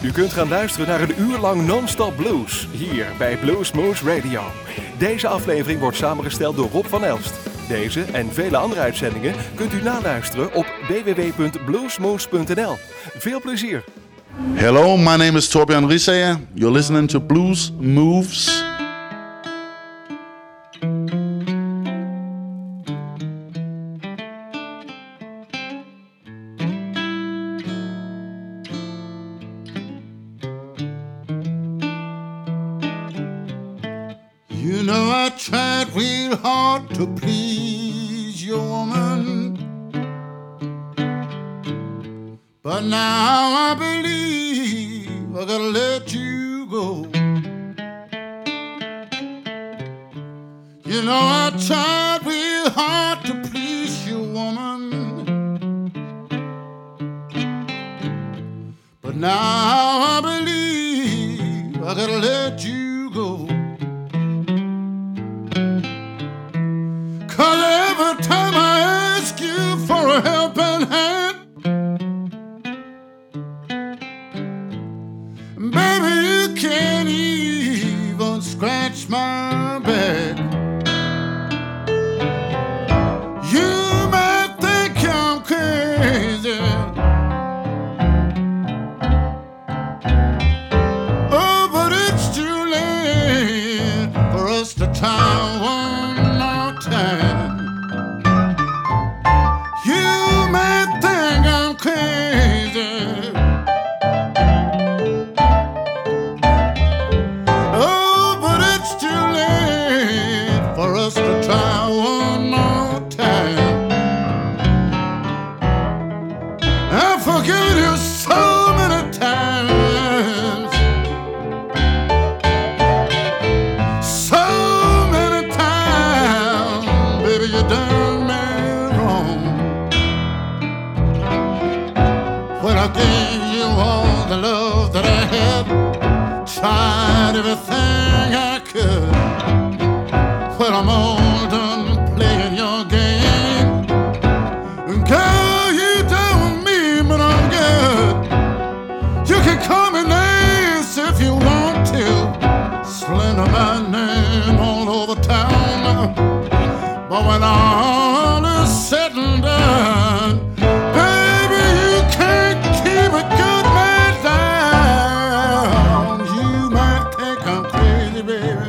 U kunt gaan luisteren naar een uur lang non-stop blues, hier bij Bluesmoose Radio. Deze aflevering wordt samengesteld door Rob van Elst. Deze en vele andere uitzendingen kunt u naluisteren op www.bluesmoose.nl. Veel plezier! Hello, my name is Torbjörn Riesager. You're listening to Blues Moves. You know I tried real hard to please your woman, but now I believe I gotta let you go. You know I tried real hard to please your woman, but now I believe I gotta let you go. 'Cause every time I ask you for a helping hand, baby, you can't even scratch my back. You might think I'm crazy, oh, but it's too late for us to try one more time. You might think I'm crazy, oh, but it's too late for us to try one more time. I've forgiven you so many times, so many times, baby, you done me wrong. When I gave you all the love that I had, tried everything I could. When I'm all done playing your game, girl, you done me, but I'm good. You can call me names if you want to, slander my name all over town, but when all is said and done, baby, you can't keep a good man down. You might think I'm crazy, baby,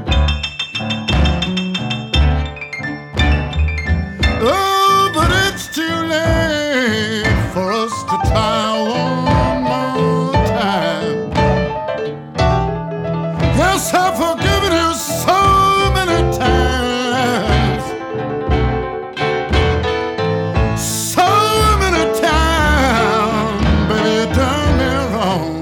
oh, but it's too late for us to try one more time. Yes, I've forgiven you so many times, so many times, baby, you done me wrong.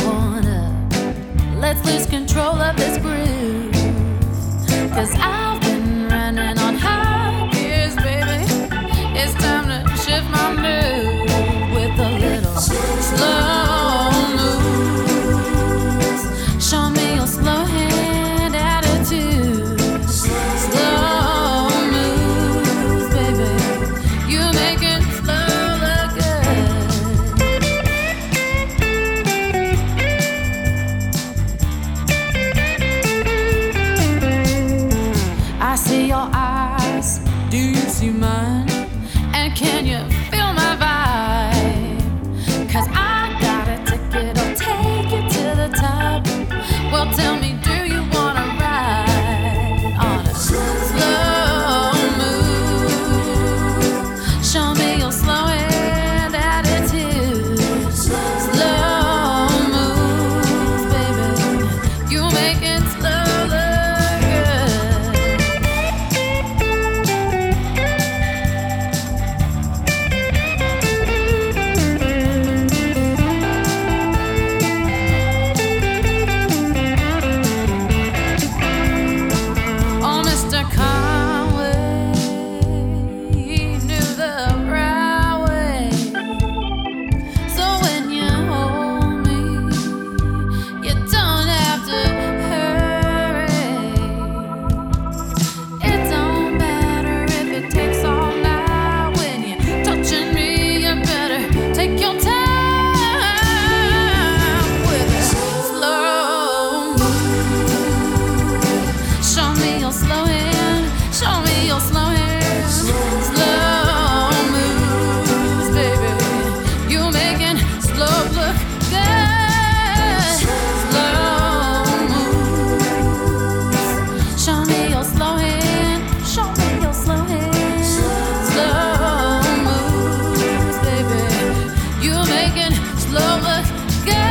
one up. Let's lose control of this groove. 'Cause I've been running on high gears, baby. It's time to shift my mood with a little slow moves. Show me your slow hand attitude. Slow moves, baby. You make it slow look good. I see your eyes, do you see mine? And can you feel my vibe? 'Cause I got a ticket, I'll take you to the top. Well, tell me, do you wanna ride on a slow move? Show me your slow hand attitude. Slow moves, baby. You make it slow look good. Oh, Mr. Conway, he knew the right way. So when you hold me, you don't have to hurry. It don't matter if it takes all night. When you're touching me, you better take your time with a slow move. Show me your slow hand. Show me your slow hand. Slow moves, baby. You making slow look good. Slow moves. Show me your slow hand. Show me your slow hand. Slow moves, baby. You making slow look good.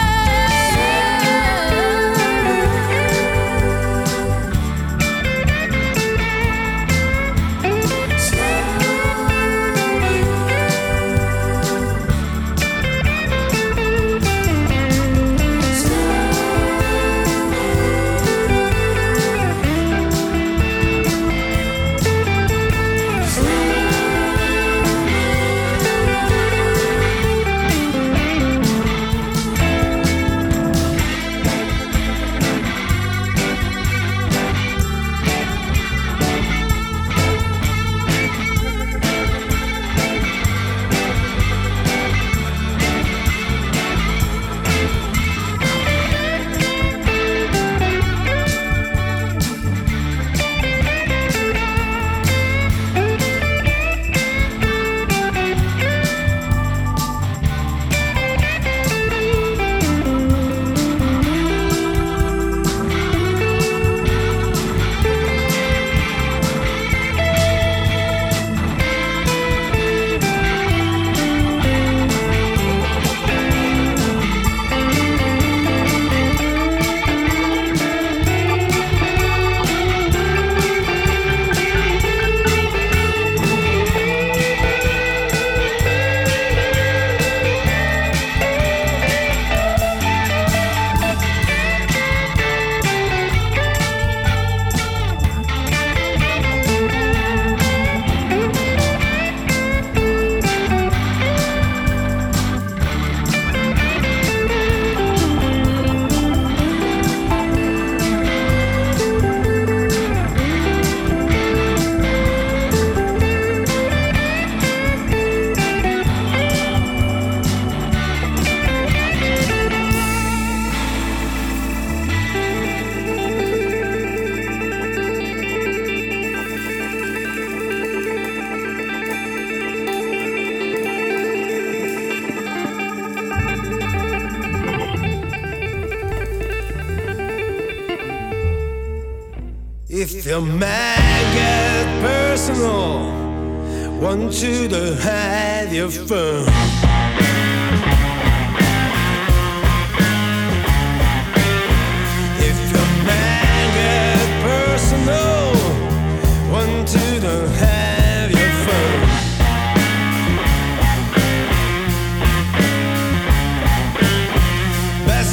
If the man gets personal, want you to have your fun. If the man gets personal, want you to have your fun. Best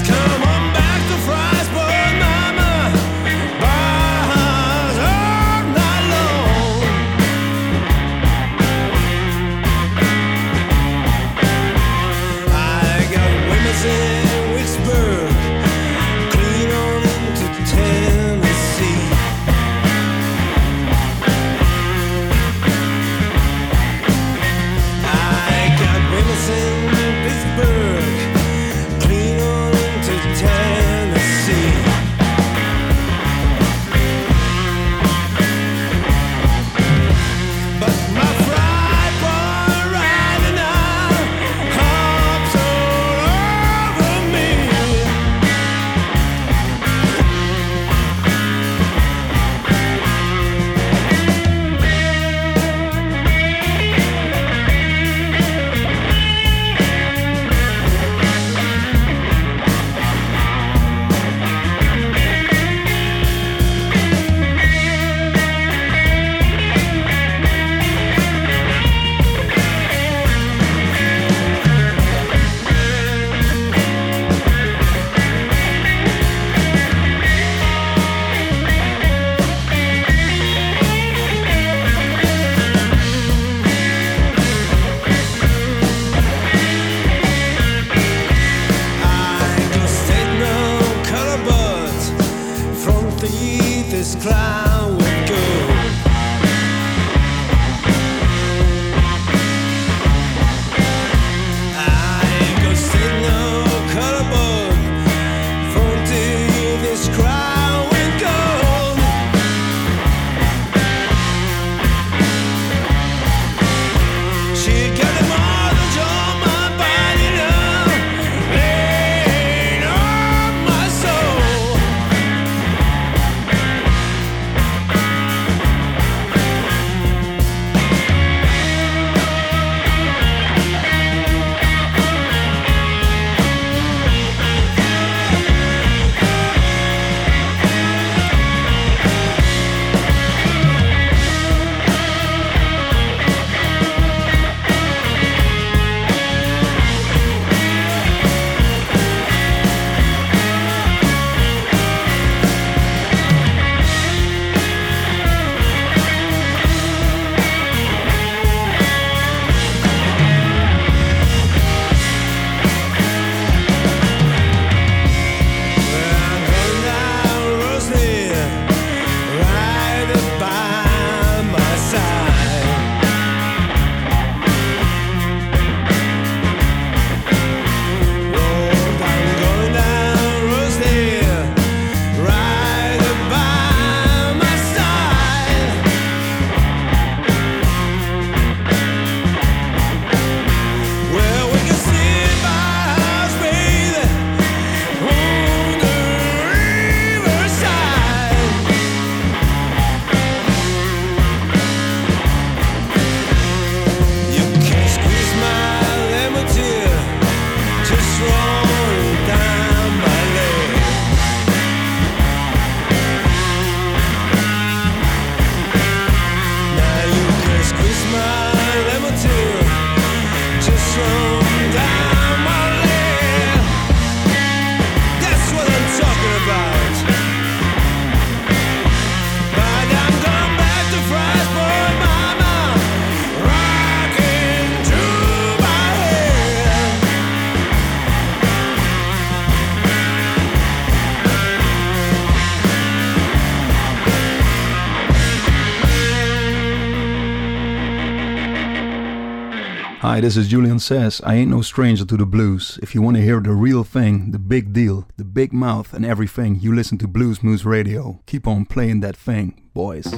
Hi, this is Julian Says. I ain't no stranger to the blues. If you want to hear the real thing, the big deal, the big mouth and everything, you listen to Blues Moose Radio. Keep on playing that thing, boys.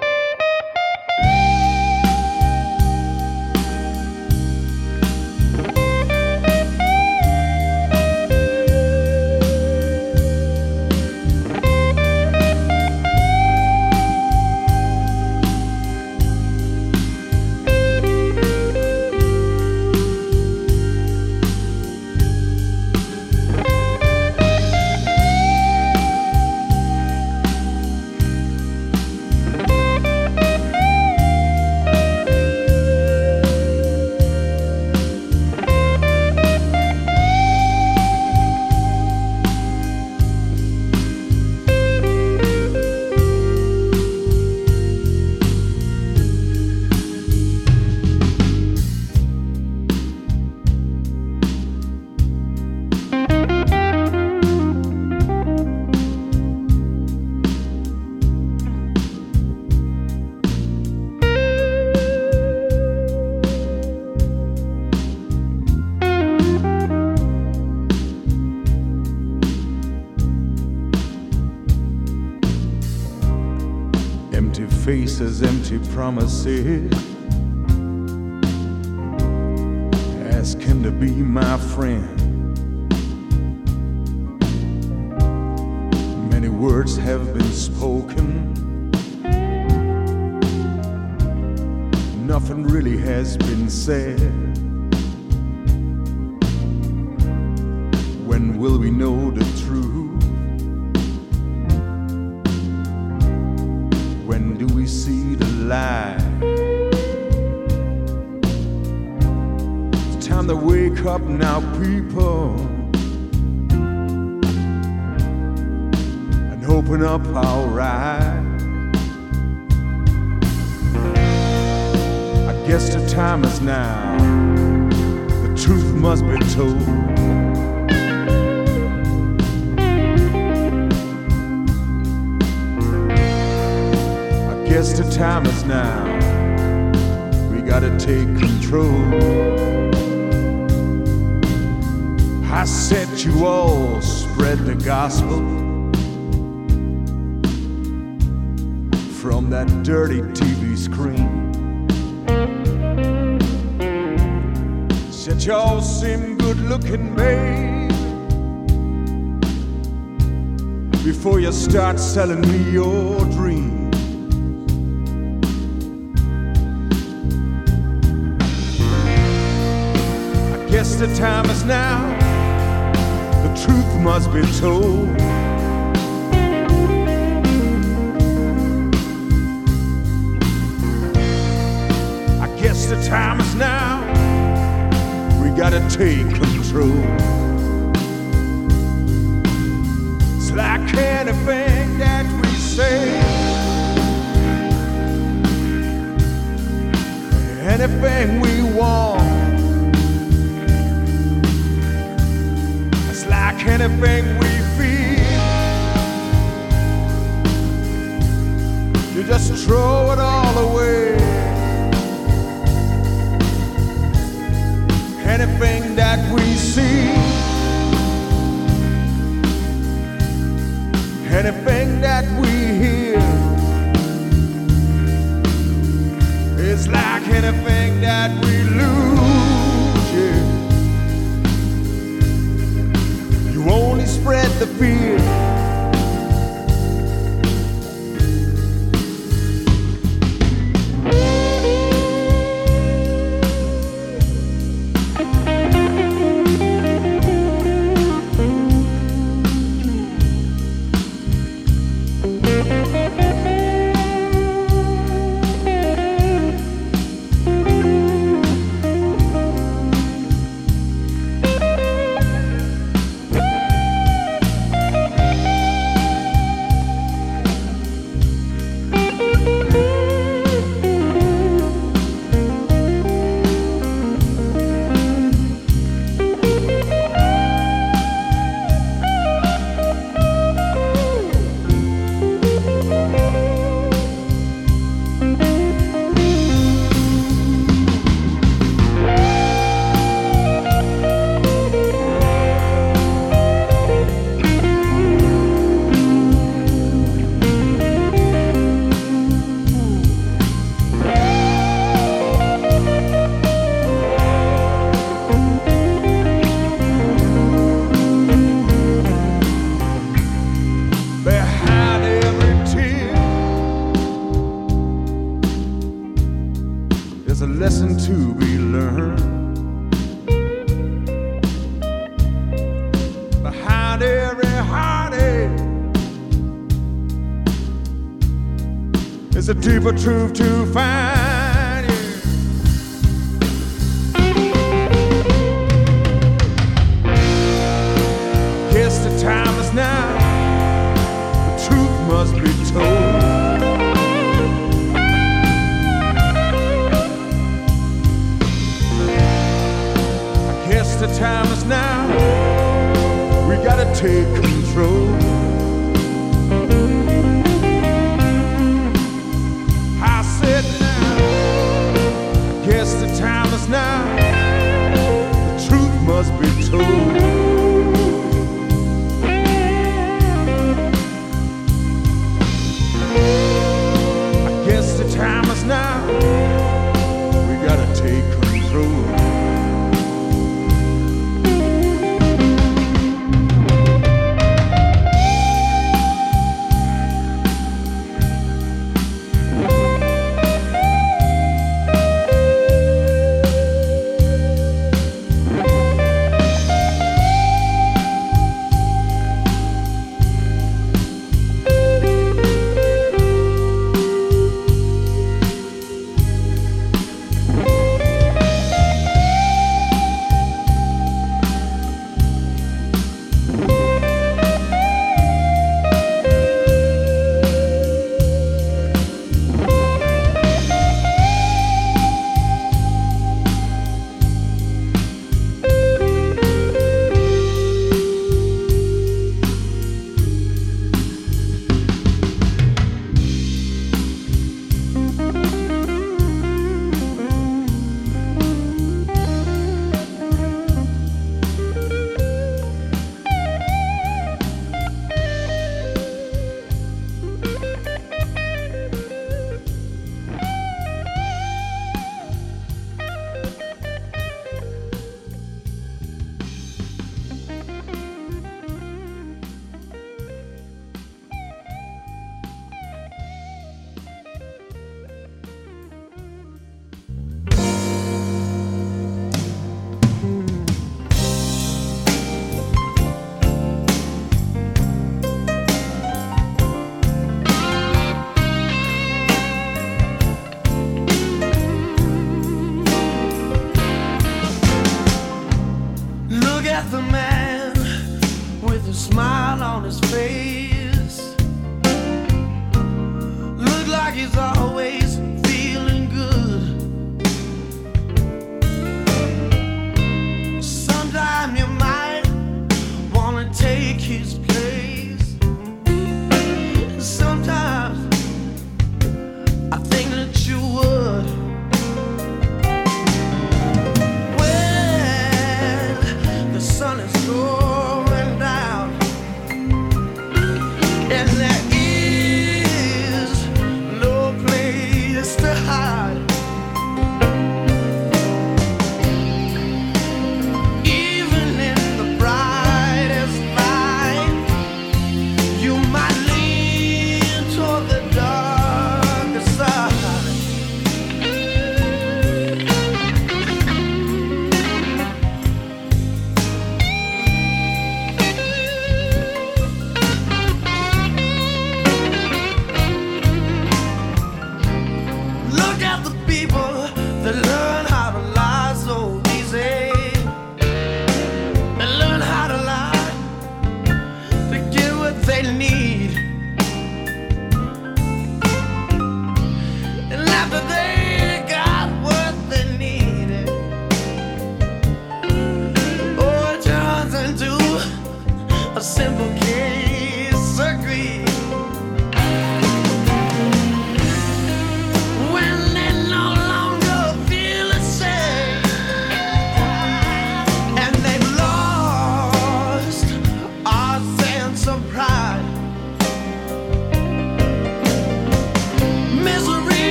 Faces, empty promises, asking to be my friend. Many words have been spoken, nothing really has been said. When will we know the truth? When do we see the light? It's time to wake up now, people, and open up our eyes. I guess the time is now, the truth must be told. Guess the time is now, we gotta take control. I said you all spread the gospel from that dirty TV screen. Said y'all seem good looking, babe, before you start selling me your dreams. Guess the time is now, the truth must be told. I guess the time is now, we gotta take control. It's like anything that we say, anything we want. Like anything we feel, you just throw it all away. Anything that we see, anything that we hear, it's like anything that we lose, yeah. Only spread the fear. lesson to be learned. Behind every heartache is a deeper truth to find. Yeah. Guess the time is now. The truth must be told. The time is now. We gotta take control. I said now. Guess the time is now. The truth must be told. I guess the time is now. We gotta take control.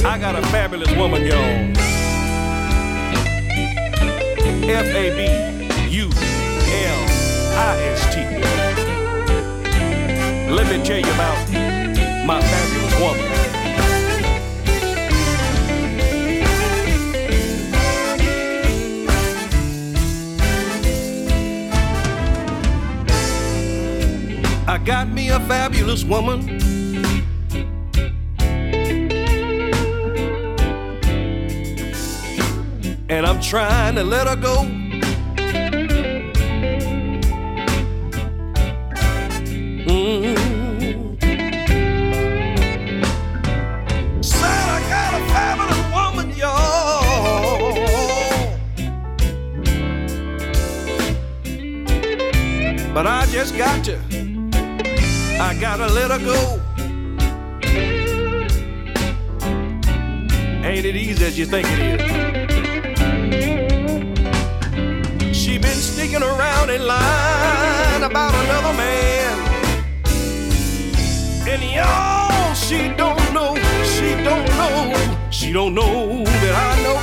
I got a fabulous woman, y'all. F-A-B-U-L-I-S-T. Let me tell you about my fabulous woman. I got me a fabulous woman. And I'm trying to let her go. Said I got a fabulous woman, y'all. But I just got to. I gotta let her go. Ain't it easy as you think it is? She been sneaking around in line about another man. And y'all, she don't know that I know.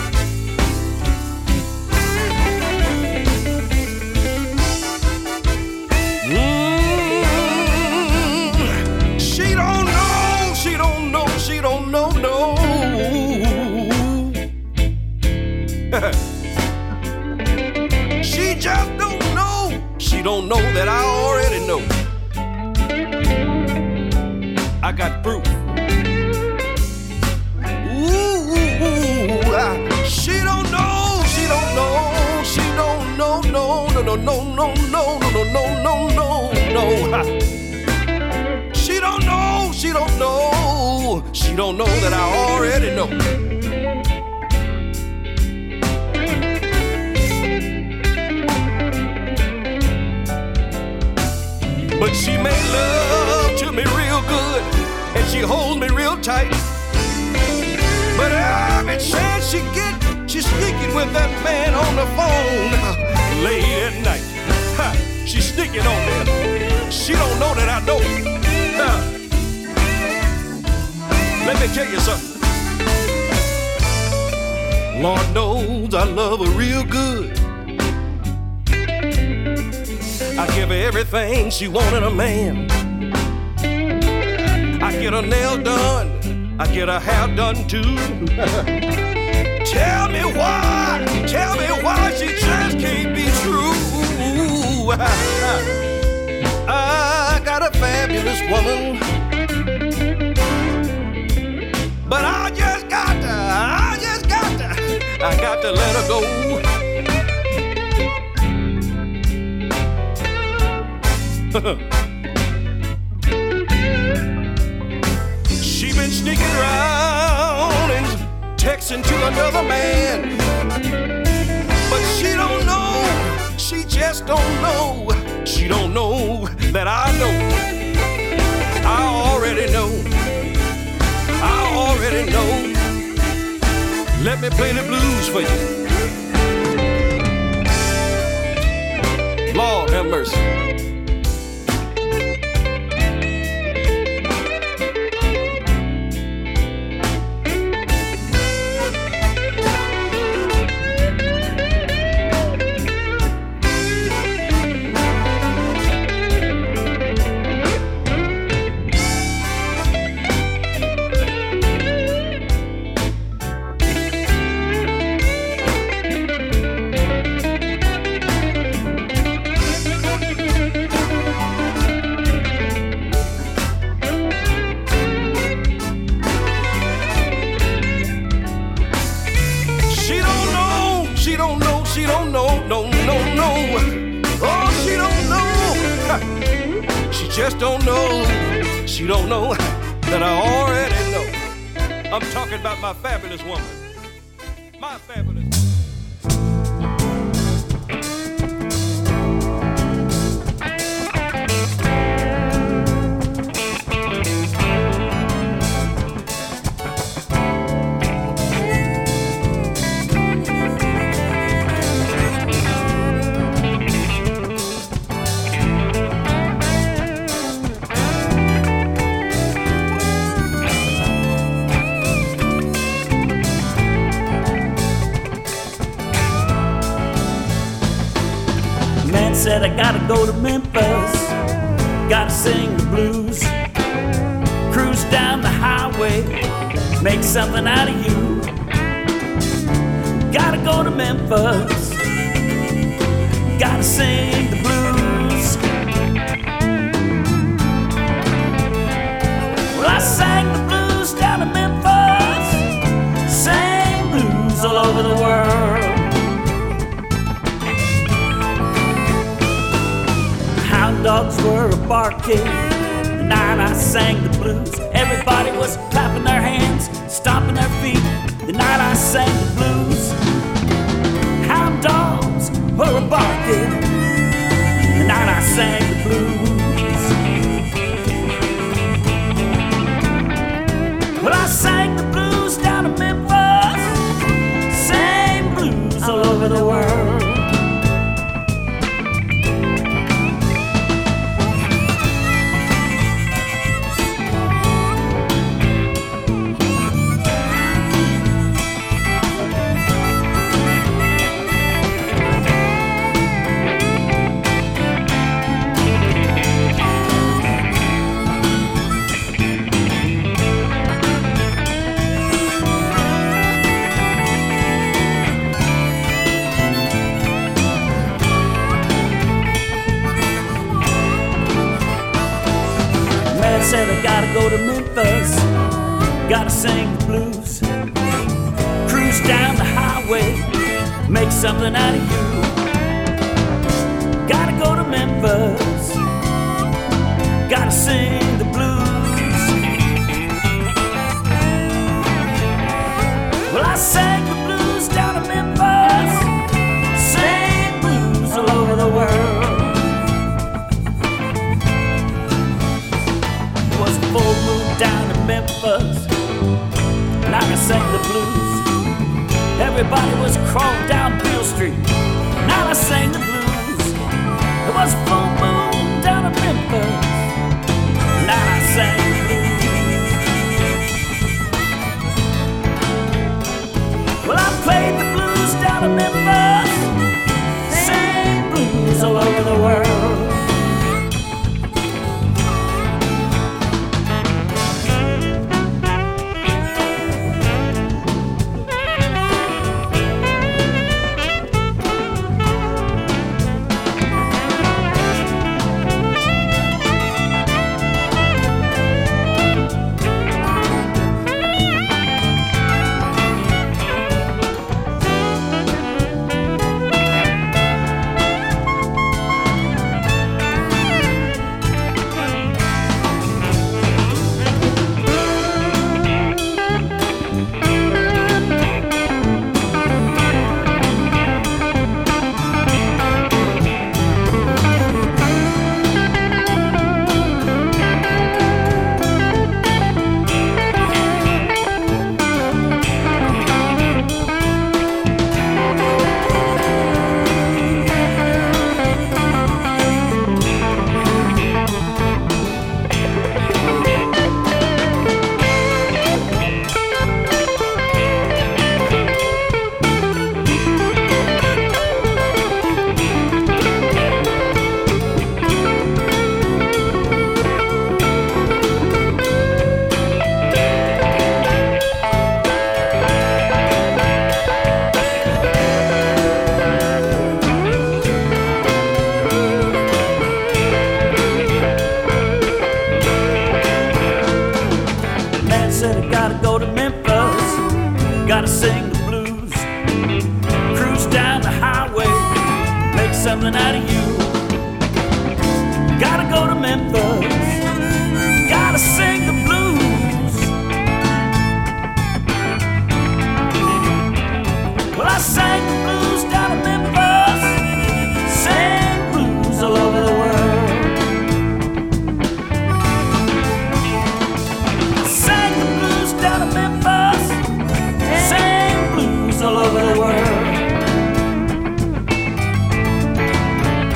She don't know, no. She just don't know. She don't know that I already know. I got proof. She don't know. She don't know. She don't know. No. She don't know. She don't know. She don't know that I already know. But she made love to me real good, and she holds me real tight. But every chance she get, she's sneaking with that man on the phone late at night. She's sneaking on me. She don't know that I know. Let me tell you something. Lord knows I love her real good. I give her everything she wanted a man. I get her nail done. I get her hair done too. Tell me why she just can't be true. I got a fabulous woman. But I got to let her go. She been sneaking around and texting to another man. But she don't know, she just don't know. She don't know that I know. I already know. Let me play the blues for you. Lord have mercy. Just don't know, she don't know that I already know. I'm talking about my fabulous woman. My fabulous woman. said I gotta go to Memphis, gotta sing the blues, cruise down the highway, make something out of you. Gotta go to Memphis, gotta sing the blues. Well, I sang the blues down to Memphis, sang blues all over the world. Hound dogs were barking the night I sang the blues. Everybody was clapping their hands, stomping their feet the night I sang the blues. Hound dogs were barking the night I sang the blues. Well, I sang the blues down to Memphis, sang blues all over the world. Said I gotta go to Memphis, gotta sing the blues, cruise down the highway, make something out of you. Gotta go to Memphis, gotta sing the blues. Well, I sang the blues down to Memphis, sang blues all over the world. Full moon down in Memphis, and I sang the blues. Everybody was crawling down Beale Street, now I sang the blues. It was full moon down in Memphis, now I sang the blues. Well, I played the blues down in Memphis, sang blues all over the world. Gotta sing the blues, cruise down the highway, make something out of you. Gotta go to Memphis, gotta sing the blues. Well, I sang the blues down to Memphis, sang blues all over the world. I sang the blues down to Memphis, sang blues all over the world.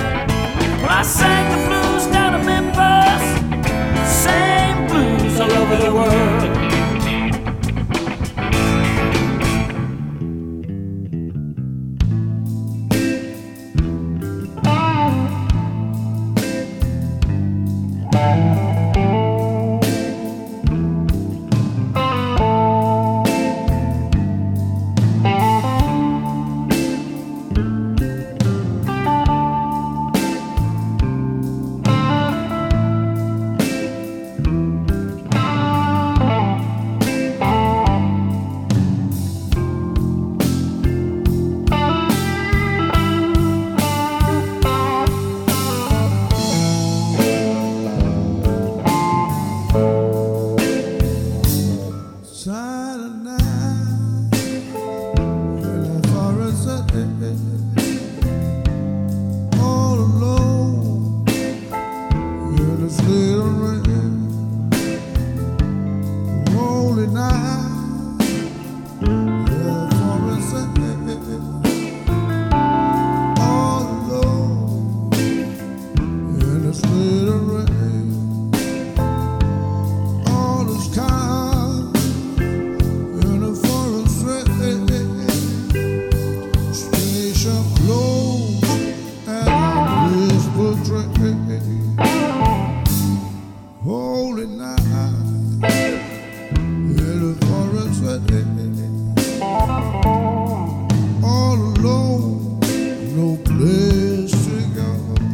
All alone, no place to go.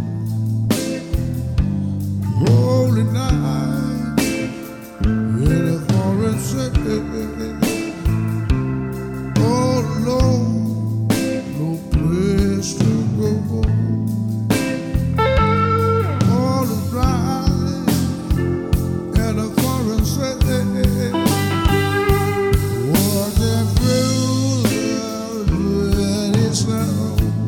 Holy night in a foreign city. All alone, no place to go. All is blind in a foreign city. Walking through the really snow.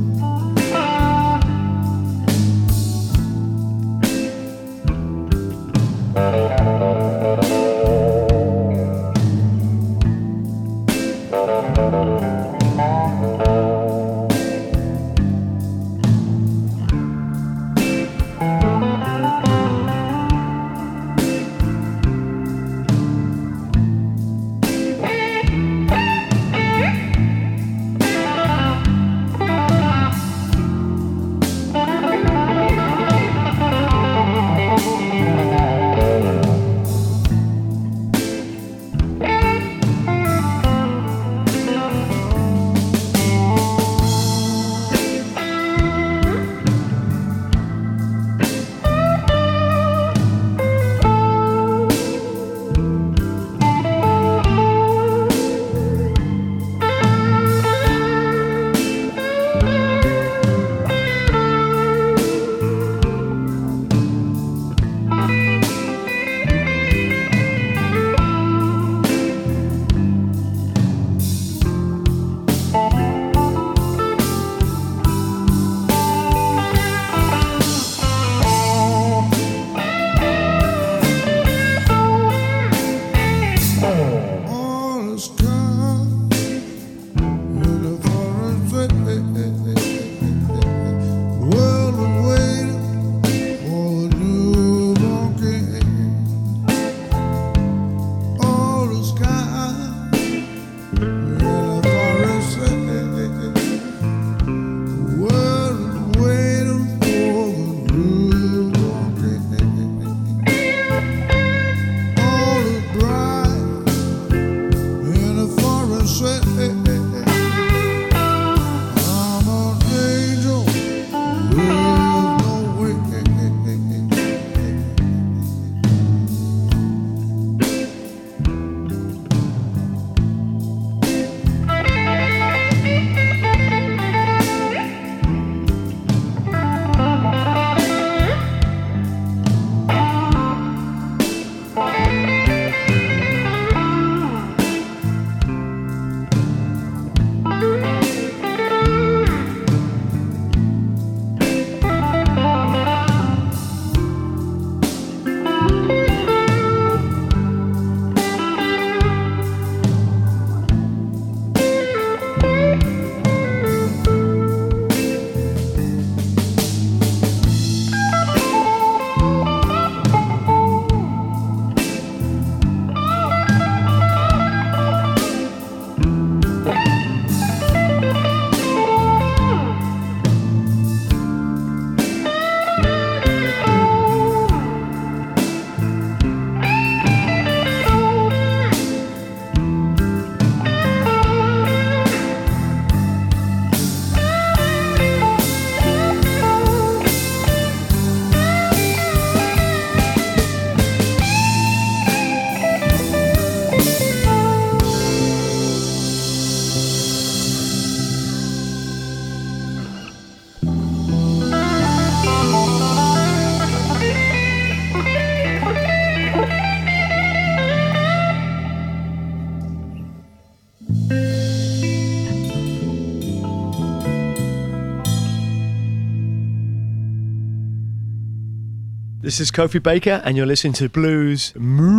This is Kofi Baker, and you're listening to Blues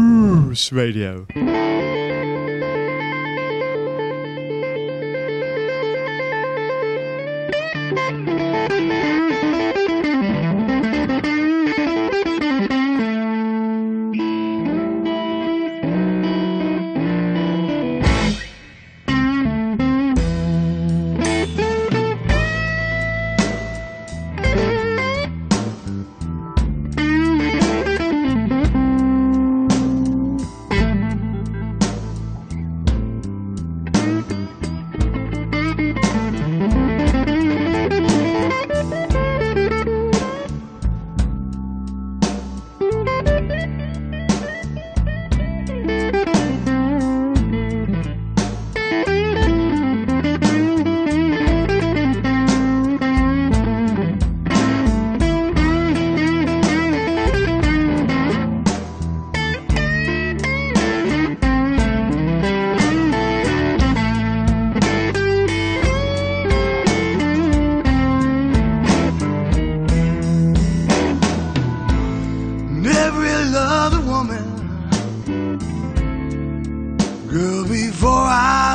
Moose Radio.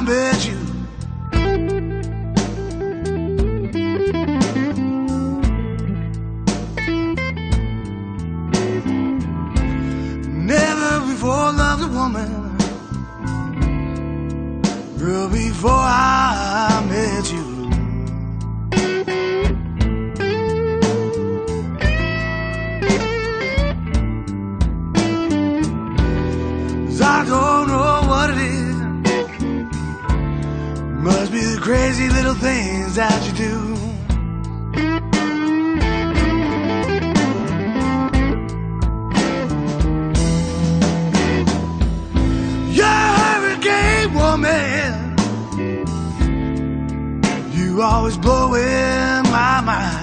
met you. Never before loved a woman, girl, before I met you. I don't know what it is. Must be the crazy little things that you do. You're a hurricane woman. You always blowing my mind.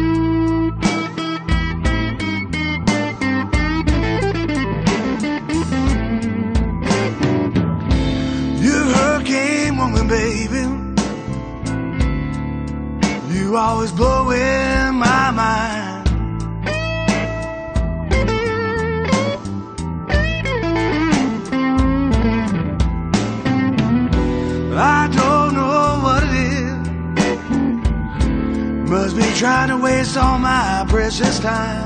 Baby, you always blowing my mind. I don't know what it is. Must be trying to waste all my precious time.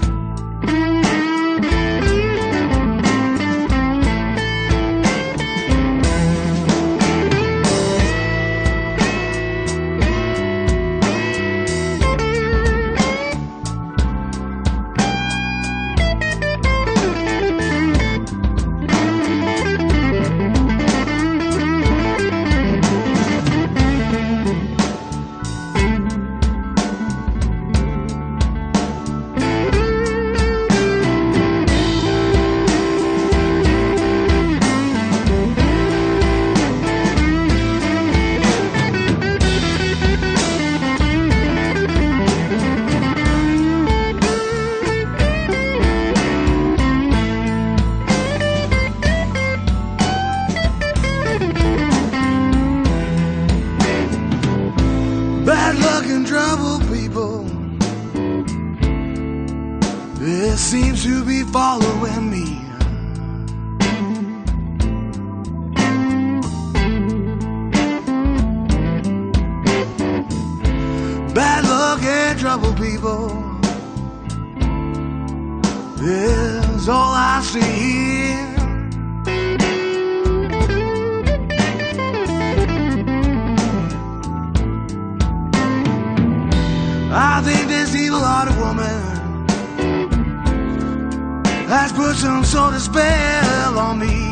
Bad luck and trouble, people. It seems to be following me. Bad luck and trouble, people, is all I see. I think this evil-hearted woman has put some sort of spell on me.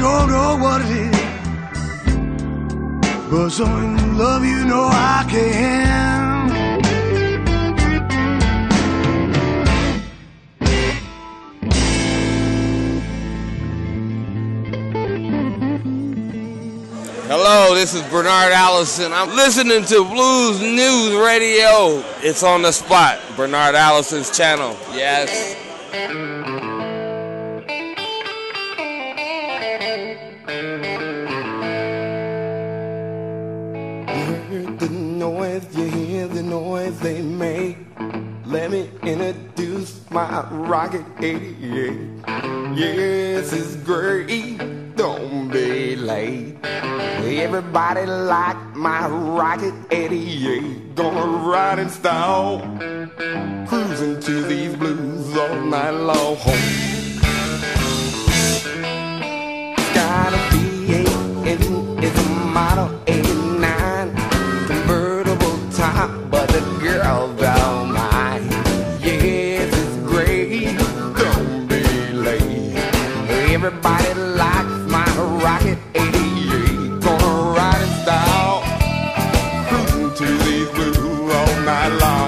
don't know what it is, but some love you know I can. Hello, this is Bernard Allison. I'm listening to Blues News Radio. It's on the spot, Bernard Allison's channel. Yes. You hear the noise they make. Let me introduce my Rocket 88. Yes, it's great. Don't be late. Everybody like my Rocket 88. Gonna ride in style, cruising to these blues all night long. Got a V8 engine, it's a Model 89. Top, but the girl don't mind. Yes, it's great. Don't be late. Everybody likes my Rocket 88. Gonna ride in style, cruising to these blues all night long.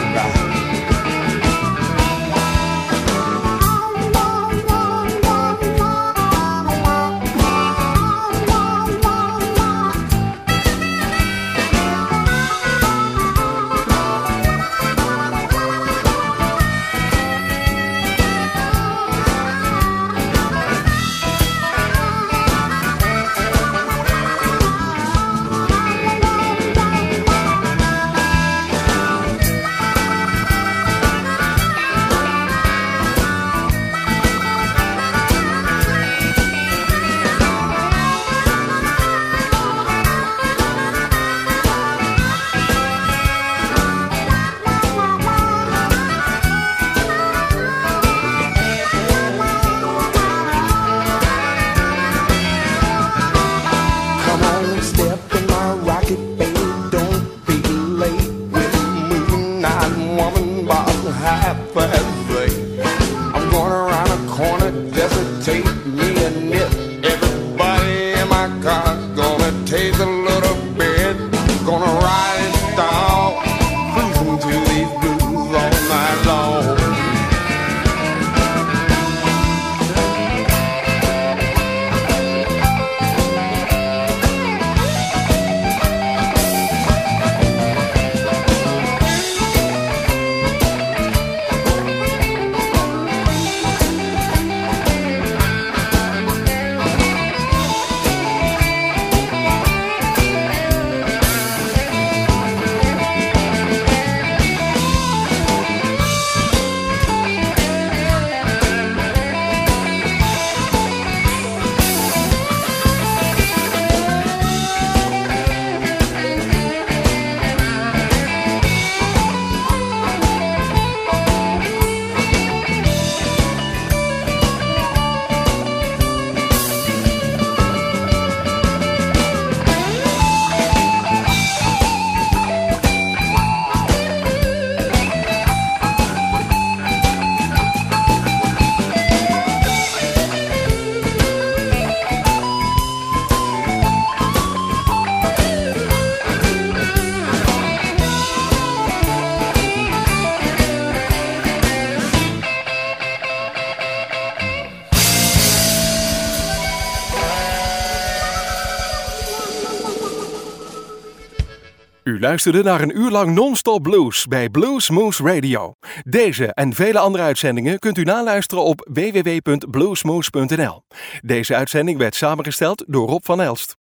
U luisterde naar een uur lang non-stop blues bij Blues Moose Radio. Deze en vele andere uitzendingen kunt u naluisteren op www.bluesmoose.nl. Deze uitzending werd samengesteld door Rob van Elst.